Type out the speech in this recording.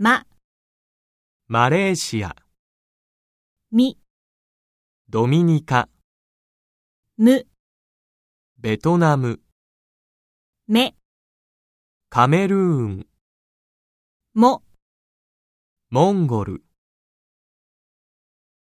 ま、 マレーシア、 み、 ドミニカ、 む、 ベトナム、 め、 カメルーン、 も、 モンゴル。